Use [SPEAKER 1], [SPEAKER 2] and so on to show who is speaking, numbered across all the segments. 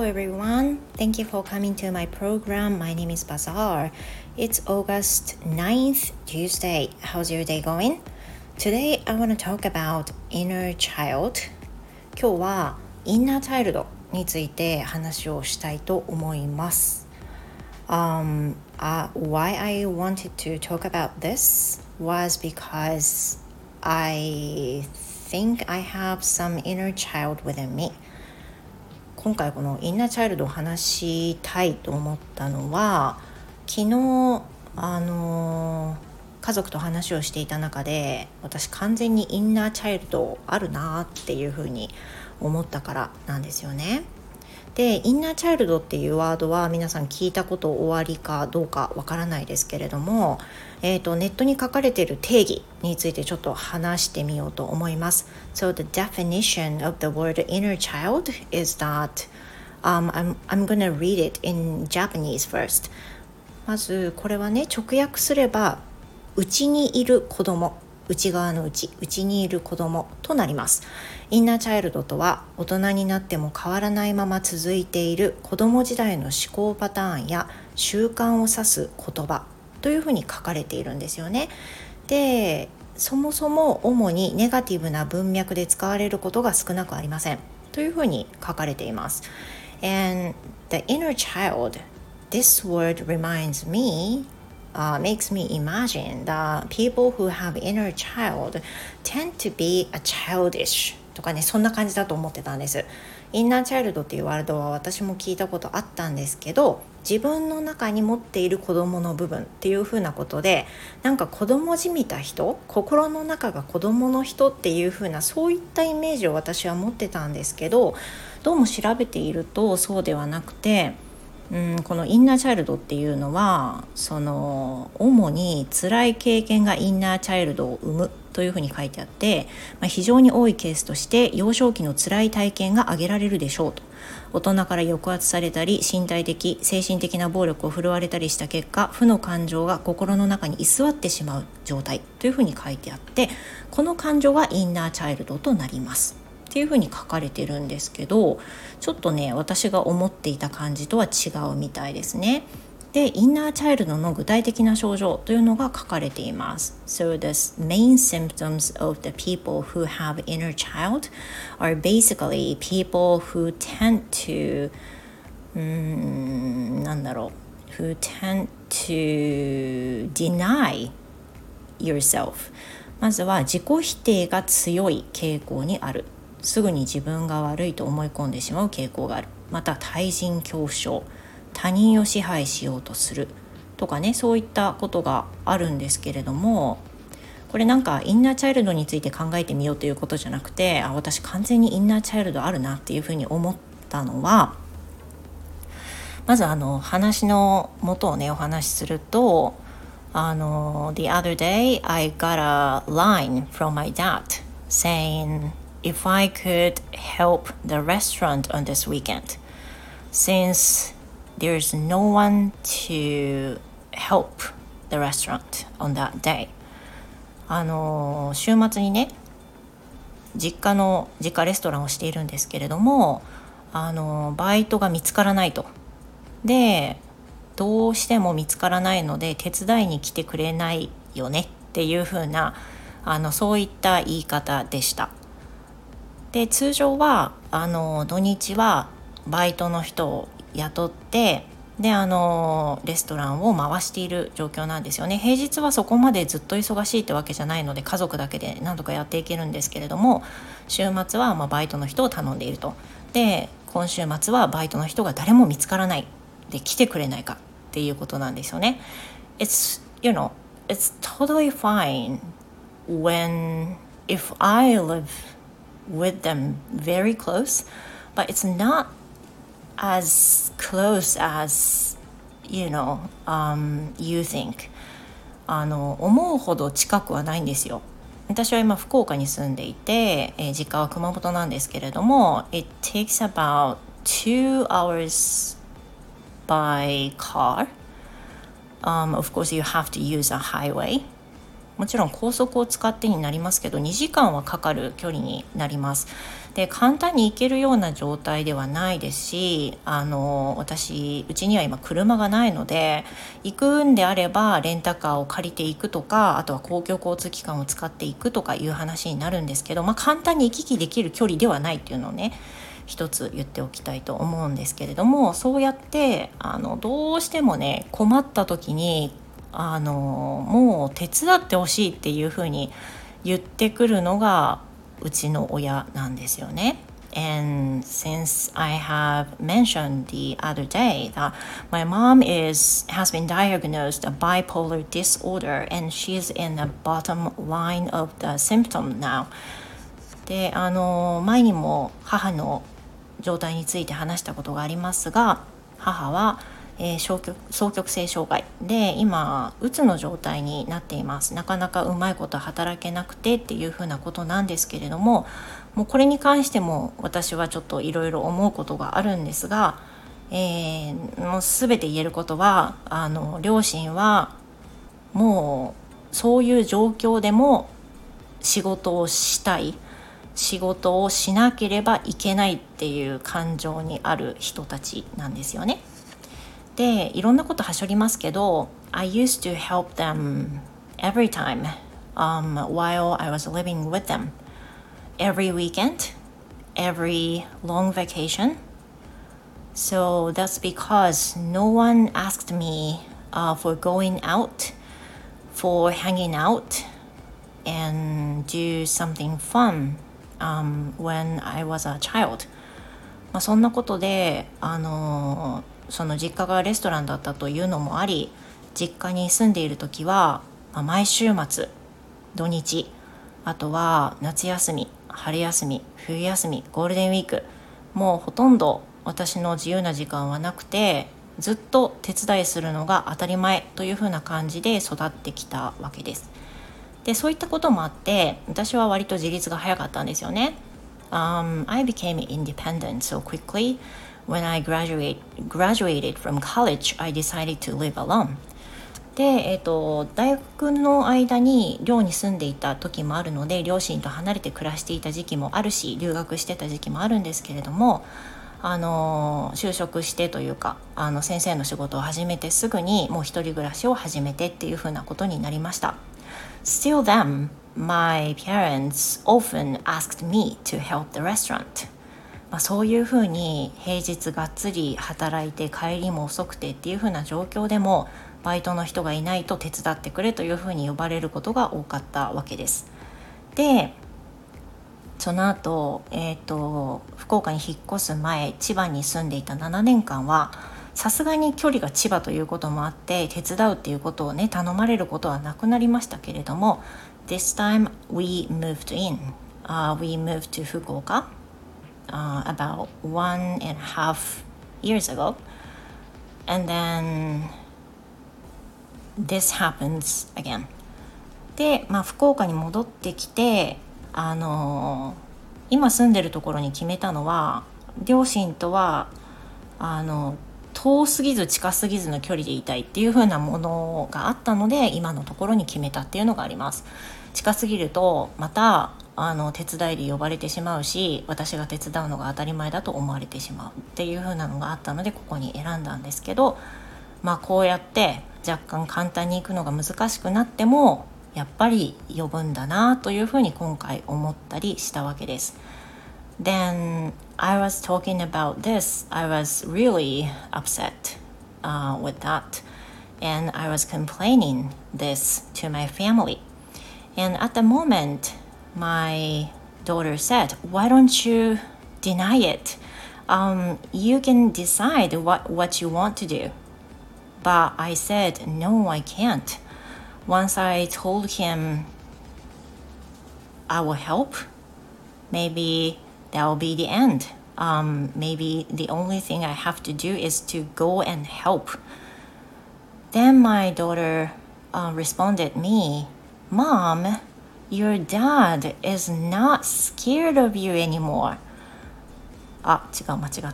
[SPEAKER 1] Hello everyone. Thank you for coming to my program. My name is Bazaar. It's August 9th, Tuesday. How's your day going? Today I want to talk about inner child. 今日はインナーチャイルドについて話をしたいと思います。Why I wanted to talk about this was because I think I have some inner child within me. 今回このインナーチャイルドを話したいと思ったのは、昨日家族と話をしていた中で、私完全にインナーチャイルドあるなっていうふうに思ったからなんですよね。で、インナーチャイルドっていうワードは皆さん聞いたことおありかどうかわからないですけれども、ネットに書かれている定義についてちょっと話してみようと思います。So the definition of the word inner child is that I'm gonna read it in Japanese first. まずこれはね、直訳すれば内にいる子供、内側の内にいる子供となります。インナーチャイルドとは、大人になっても変わらないまま続いている子供時代の思考パターンや習慣を指す言葉というふうに書かれているんですよね。で、そもそも主にネガティブな文脈で使われることが少なくありませんというふうに書かれています。And the inner child, this word reminds me,makes me imagine that people who have inner child tend to be a childish とかね、そんな感じだと思ってたんです。インナーチャイルドっていうワードは私も聞いたことあったんですけど、自分の中に持っている子供の部分っていう風なことで、なんか子供じみた人、心の中が子供の人っていう風な、そういったイメージを私は持ってたんですけど、どうも調べているとそうではなくて、このインナーチャイルドっていうのは、主に辛い経験がインナーチャイルドを生むというふうに書いてあって、非常に多いケースとして幼少期の辛い体験が挙げられるでしょうと。大人から抑圧されたり、身体的精神的な暴力を振るわれたりした結果、負の感情が心の中に居座ってしまう状態というふうに書いてあって、この感情がインナーチャイルドとなりますっていうふうに書かれてるんですけど、ちょっとね、私が思っていた感じとは違うみたいですね。で、インナーチャイルドの具体的な症状というのが書かれています。So the main symptoms of the people who have inner child are basically people who tend to who tend to deny yourself。 まずは自己否定が強い傾向にある。すぐに自分が悪いと思い込んでしまう傾向がある。また対人恐怖症、他人を支配しようとするとかね、そういったことがあるんですけれども、これなんかインナーチャイルドについて考えてみようということじゃなくて、私完全にインナーチャイルドあるなっていうふうに思ったのは、まず話の元をね、お話しすると、The other day I got a line from my dad saying if I could help the restaurant on this weekend, since there's no one to help the restaurant on that day. 週末にね、実家レストランをしているんですけれども、バイトが見つからないと。で、どうしても見つからないので手伝いに来てくれないよねっていう風なそういった言い方でした。で、通常は土日はバイトの人を雇って、でレストランを回している状況なんですよね。平日はそこまでずっと忙しいってわけじゃないので、家族だけで何とかやっていけるんですけれども、週末はバイトの人を頼んでいると。で、今週末はバイトの人が誰も見つからないで、来てくれないかっていうことなんですよね。It's totally fine if I live with them very close, but it's not as close as you think. 思うほど近くはないんですよ。私は今福岡に住んでいて、実家は熊本なんですけれども、 It takes about 2 hours by car. Of course you have to use a highway. もちろん高速を使ってになりますけど2時間はかかる距離になります。で簡単に行けるような状態ではないですし、私うちには今車がないので、行くんであればレンタカーを借りていくとか、あとは公共交通機関を使っていくとかいう話になるんですけど、簡単に行き来できる距離ではないっていうのをね一つ言っておきたいと思うんですけれども、そうやってどうしてもね困った時にもう手伝ってほしいっていうふうに言ってくるのがうちの親なんですよね。And since I have mentioned the other day that my mom has been diagnosed a bipolar disorder and she's in the bottom line of the symptom now. で前にも母の状態について話したことがありますが、母は双極性障害で今うつの状態になっています。なかなかうまいこと働けなくてっていうふうなことなんですけれども、もうこれに関しても私はちょっといろいろ思うことがあるんですが、もう全て言えることは両親はもうそういう状況でも仕事をしたい、仕事をしなければいけないっていう感情にある人たちなんですよね。でいろんなことはしょりますけど、 I used to help them every time while I was living with them, every weekend, every long vacation. So that's because no one asked me for going out, for hanging out and do something fun when I was a child. そんなことでその実家がレストランだったというのもあり、実家に住んでいる時は、毎週末土日、あとは夏休み、春休み、冬休み、ゴールデンウィーク、もうほとんど私の自由な時間はなくて、ずっと手伝いするのが当たり前というふうな感じで育ってきたわけです。でそういったこともあって私は割と自立が早かったんですよね。I became independent so quickly when I graduated from college. I decided to live alone. で、大学の間に寮に住んでいた時もあるので、両親と離れて暮らしていた時期もあるし、留学してた時期もあるんですけれども、就職してというか先生の仕事を始めてすぐにもう一人暮らしを始めてっていうふうなことになりました。Still then, my parents often asked me to help the restaurant. そういうふうに平日がっつり働いて帰りも遅くてっていうふうな状況でもバイトの人がいないと手伝ってくれというふうに呼ばれることが多かったわけです。でその後、福岡に引っ越す前、千葉に住んでいた7年間はさすがに距離が千葉ということもあって手伝うっていうことをね頼まれることはなくなりましたけれども、 This time we moved we moved to 福岡about 1.5 years ago, and then this happens again. で、福岡に戻ってきて今住んでるところに決めたのは、両親とは遠すぎず近すぎずの距離でいたいっていう風なものがあったので、今のところに決めたっていうのがあります。近すぎるとまた手伝いで呼ばれてしまうし、私が手伝うのが当たり前だと思われてしまうっていう風なのがあったのでここに選んだんですけど、こうやって若干簡単に行くのが難しくなってもやっぱり呼ぶんだなというふうに今回思ったりしたわけです。Then I was talking about this. I was really upset with that, and I was complaining this to my family. And at the moment, my daughter said, "Why don't you deny it? You can decide what you want to do." But I said, "No, I can't."Once I told him I will help, maybe that will be the end. Maybe the only thing I have to do is to go and help. Then my daughter responded me, "Mom, your dad is not scared of you anymore." 違う、間違った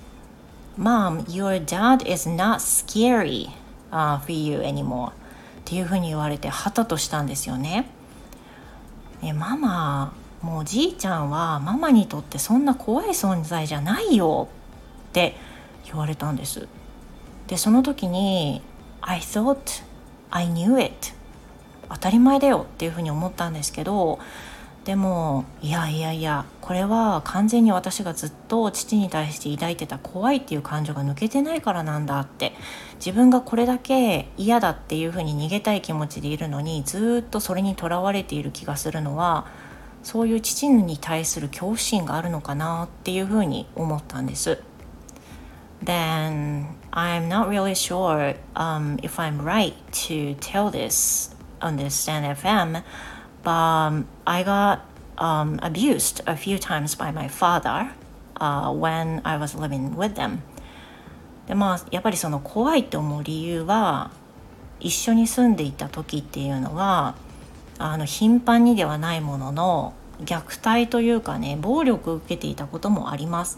[SPEAKER 1] 。Mom, your dad is not scary for you anymore.っっていうふうに言われてはたとしたんですよね。ママ、もうおじいちゃんはママにとってそんな怖い存在じゃないよって言われたんです。でその時に I thought I knew it、 当たり前だよっていうふうに思ったんですけど、でもいやいやいや、これは完全に私がずっと父に対して抱いてた怖いっていう感情が抜けてないからなんだって、自分がこれだけ嫌だっていうふうに逃げたい気持ちでいるのにずっとそれにとらわれている気がするのは、そういう父に対する恐怖心があるのかなっていうふうに思ったんです。 Then I'm not really sure if I'm right to tell this on this Stand FM, but I got abused a few times by my father when I was living with them. でやっぱりその怖いって思う理由は、一緒に住んでいた時っていうのは頻繁にではないものの虐待というかね、暴力を受けていたこともあります。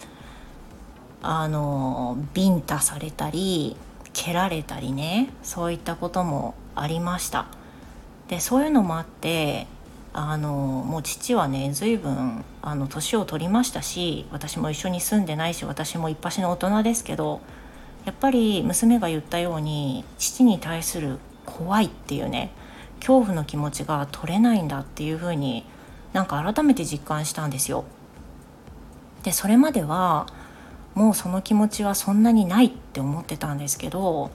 [SPEAKER 1] ビンタされたり蹴られたりね、そういったこともありました。でそういうのもあってもう父はね随分年を取りましたし、私も一緒に住んでないし、私も一発の大人ですけど、やっぱり娘が言ったように父に対する怖いっていうね、恐怖の気持ちが取れないんだっていう風になんか改めて実感したんですよ。でそれまではもうその気持ちはそんなにないって思ってたんですけど、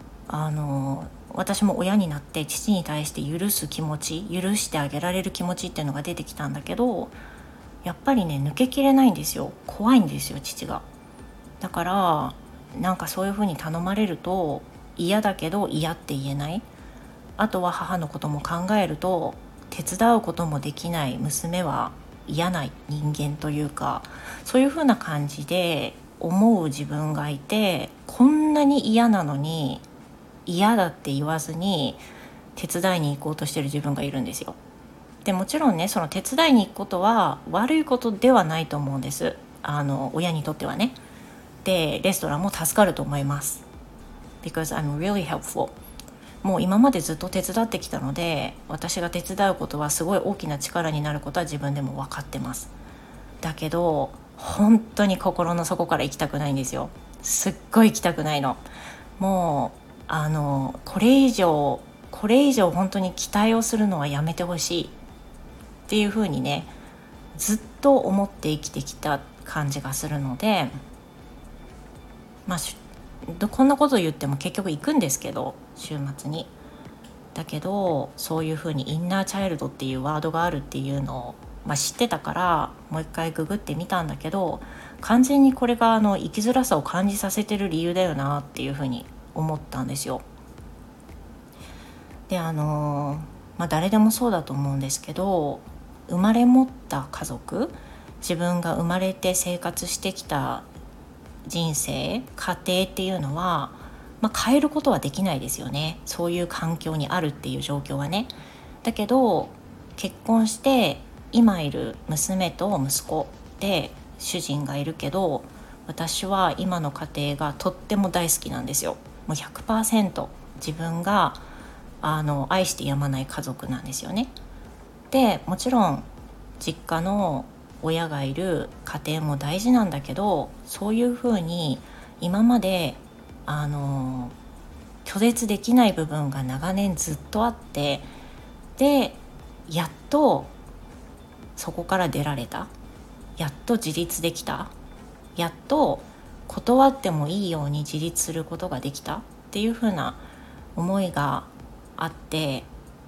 [SPEAKER 1] 私も親になって父に対して許す気持ち、許してあげられる気持ちっていうのが出てきたんだけど、やっぱりね抜けきれないんですよ。怖いんですよ父が。だからなんかそういう風に頼まれると嫌だけど嫌って言えない、あとは母のことも考えると手伝うこともできない娘は嫌な人間というか、そういう風な感じで思う自分がいて、こんなに嫌なのに嫌だって言わずに手伝いに行こうとしてる自分がいるんですよ。でもちろんね、その手伝いに行くことは悪いことではないと思うんです。親にとってはね。でレストランも助かると思います。 Because I'm really helpful。 もう今までずっと手伝ってきたので、私が手伝うことはすごい大きな力になることは自分でも分かってます。だけど本当に心の底から行きたくないんですよ。すっごい行きたくないの。もうこれ以上本当に期待をするのはやめてほしいっていう風にね、ずっと思って生きてきた感じがするので、こんなこと言っても結局行くんですけど、週末に。だけどそういう風にインナーチャイルドっていうワードがあるっていうのを、知ってたからもう一回ググってみたんだけど、完全にこれが生きづらさを感じさせてる理由だよなっていう風に思ったんですよ。で誰でもそうだと思うんですけど、生まれ持った家族、自分が生まれて生活してきた人生家庭っていうのは、変えることはできないですよね。そういう環境にあるっていう状況はね。だけど結婚して今いる娘と息子で主人がいるけど、私は今の家庭がとっても大好きなんですよ。もう 100% 自分が愛してやまない家族なんですよね。でもちろん実家の親がいる家庭も大事なんだけど、そういうふうに今まで拒絶できない部分が長年ずっとあって、でやっとそこから出られた、やっと自立できた、やっと断ってもいいように自立することができたっていう風な思いがあって、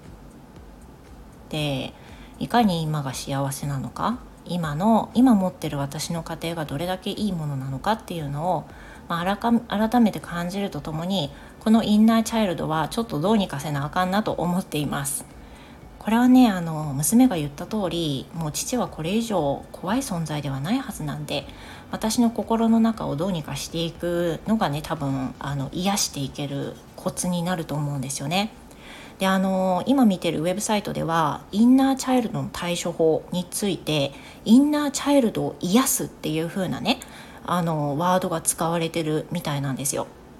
[SPEAKER 1] でいかに今が幸せなのか、今持ってる私の家庭がどれだけいいものなのかっていうのを、改めて感じるとともに、このインナーチャイルドはちょっとどうにかせなあかんなと思っています。これはね、娘が言った通り、もう父はこれ以上怖い存在ではないはずなんで、私の心の中をどうにかしていくのがね、多分癒していけるコツになると思うんですよね。で今見てるウェブサイトではインナーチャイルドの対処法について、インナーチャイルドを癒すっていう風なねワードが使われてるみたいなんですよ。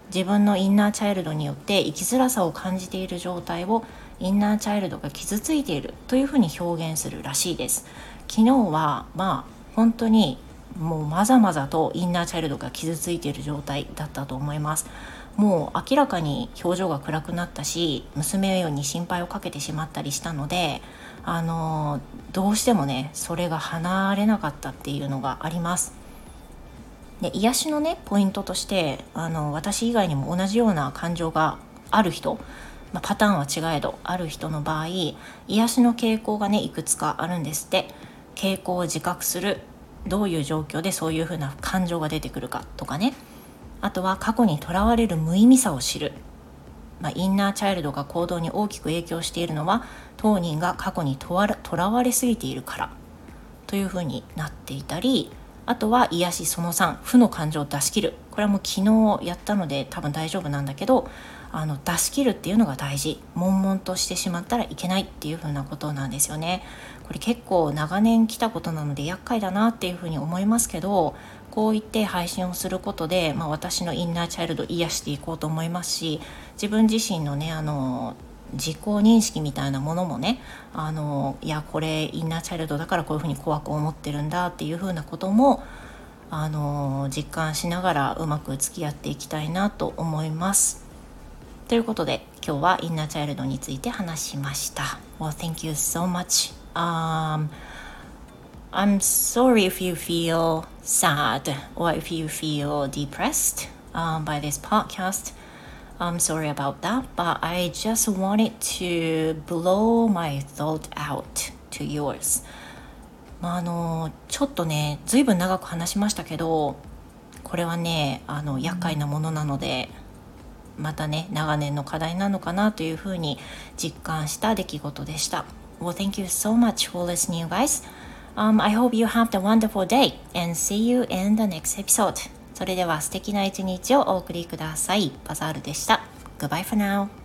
[SPEAKER 1] 自分のインナーチャイルドによって生きづらさを感じている状態をインナーチャイルドが傷ついているというふうに表現するらしいです。昨日は本当にもうまざまざとインナーチャイルドが傷ついている状態だったと思います。もう明らかに表情が暗くなったし、娘に心配をかけてしまったりしたので、どうしてもねそれが離れなかったっていうのがあります。で、癒しのねポイントとして、私以外にも同じような感情がある人、パターンは違えどある人の場合、癒しの傾向がねいくつかあるんですって。傾向を自覚する、どういう状況でそういうふうな感情が出てくるかとかね。あとは過去にとらわれる無意味さを知る。インナーチャイルドが行動に大きく影響しているのは当人が過去にとらわれすぎているからというふうになっていたり、あとは癒しその3、負の感情を出し切る。これはもう昨日やったので多分大丈夫なんだけど、出し切るっていうのが大事。悶々としてしまったらいけないっていう風なことなんですよね。これ結構長年来たことなので厄介だなっていう風に思いますけど、こう言って配信をすることで、私のインナーチャイルド癒していこうと思いますし、自分自身のね自己認識みたいなものもね、いやこれインナーチャイルドだからこういうふうに怖く思ってるんだっていうふうなことも実感しながらうまく付き合っていきたいなと思います。ということで今日はインナーチャイルドについて話しました。Well, thank you so much. I'm sorry if you feel sad or if you feel depressed by this podcast.I'm sorry about that, but I just wanted to blow my thought out to yours. ちょっとね、ずいぶん長く話しましたけど、これはね、厄介なものなので、またね、長年の課題なのかなというふうに実感した出来事でした。Well, thank you so much for listening, guys. I hope you have a wonderful day and see you in the next episode.それでは素敵な一日をお送りください。バザールでした。Goodbye for now.